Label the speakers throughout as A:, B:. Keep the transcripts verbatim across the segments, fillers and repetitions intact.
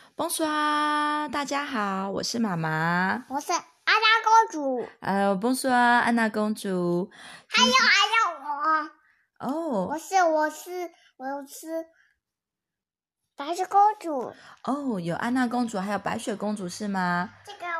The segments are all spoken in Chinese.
A: Bonsoir，大家好，我是妈妈，
B: 我是安娜公主。
A: 呃，Bonsoir，安娜公主。
B: 还有还有我，
A: 哦，
B: 我是我是我是白雪公主。
A: 哦，有安娜公主，还有白雪公主是吗？
B: 这个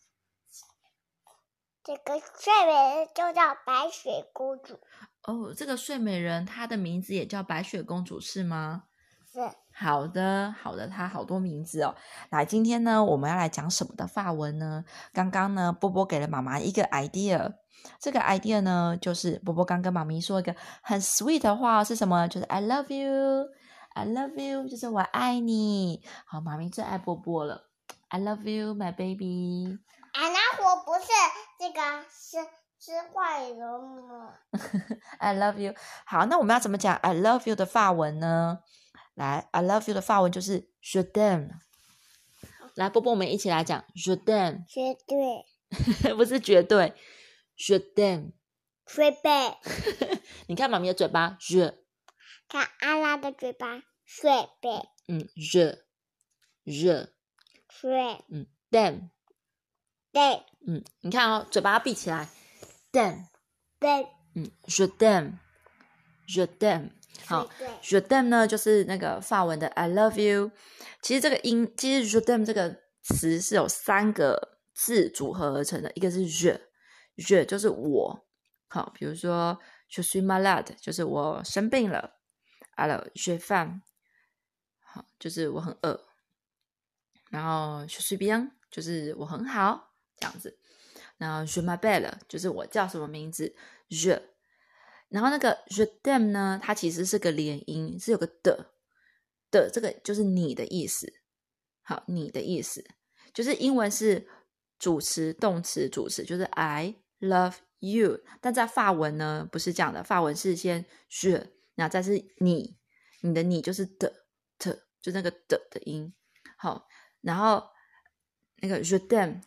B: 这个睡美人就叫白雪公主。
A: 哦，这个睡美人她的名字也叫白雪公主是吗？
B: 是。
A: 好的，好的，她好多名字哦。来，今天呢，我们要来讲什么的法文呢？刚刚呢，波波给了妈妈一个 idea， 这个 idea 呢，就是波波刚跟妈咪说一个很 sweet 的话是什么？就是 I love you， I love you， 就是我爱你。好，妈咪最爱波波了 ，I love you, my baby。
B: 安娜我不是这个是是坏人吗
A: ？I love you。好，那我们要怎么讲 I love you 的法文呢？来 I love you 的法文就是 je t'aime。 来波波我们一起来讲 je t'aime。
B: 绝对
A: 不是绝对 je t'aime。
B: 睡贝
A: 你看妈咪的嘴巴 je，
B: 看安娜的嘴巴睡贝。
A: 嗯 je je
B: 睡
A: 嗯 t'aime。
B: 对
A: 嗯，你看哦，嘴巴要闭起来 t'aime。
B: 对
A: 嗯 je t'aime je t'aime。 好，je t'aime 呢就是那个法文的 I love you。 其实这个音，其实 je t'aime 这个词是有三个字组合而成的，一个是 je je 就是我，好，比如说 je suis malade 就是我生病了， alors j'ai faim 好，就是我很饿，然后 je suis bien 就是我很好，这样子，然后 je m'appelle 就是我叫什么名字 je，然后那个 je t'aime 呢，它其实是个连音，是有个的的，这个就是你的意思。好，你的意思就是英文是主词动词主词，就是 I love you， 但在法文呢不是这样的，法文是先 je， 然后再是你，你的你就是的的，就那个的的音。好，然后那个 je t'aime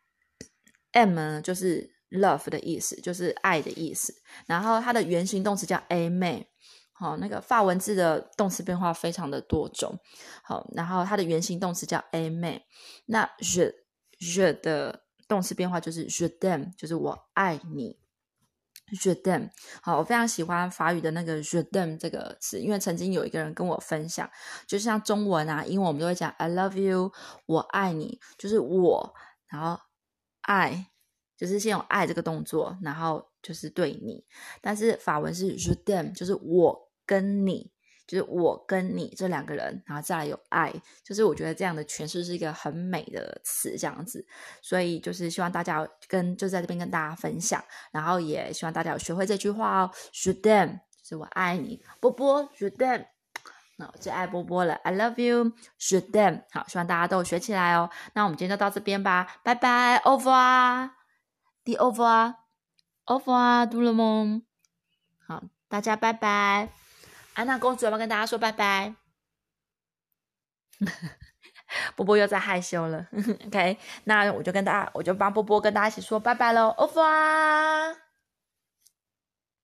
A: M 呢就是 love 的意思，就是爱的意思，然后它的原形动词叫 aimer。 好，那个法文字的动词变化非常的多种。好，然后它的原形动词叫 aimer。 那 je je 的动词变化就是 je t'aime， 就是我爱你 je t'aime。 好，我非常喜欢法语的那个 je t'aime 这个词，因为曾经有一个人跟我分享，就像中文啊英文我们都会讲 I love you， 我爱你，就是我然后爱，就是先有爱这个动作，然后就是对你，但是法文是 je t'aime， 就是我跟你，就是我跟你这两个人，然后再来有爱，就是我觉得这样的诠释是一个很美的词，这样子，所以就是希望大家跟就在这边跟大家分享，然后也希望大家有学会这句话哦 je t'aime 就是我爱你，波波 je t'aime，那我最爱波波了 I love you je t'aime。 好，希望大家都有学起来哦。那我们今天就到这边吧，拜拜 au revoir dis au revoir au revoir tout le monde。 好，大家拜拜。安娜公主要不要跟大家说拜拜？波波又在害羞了OK， 那我就跟大家我就帮波波跟大家一起说拜拜咯 au revoir。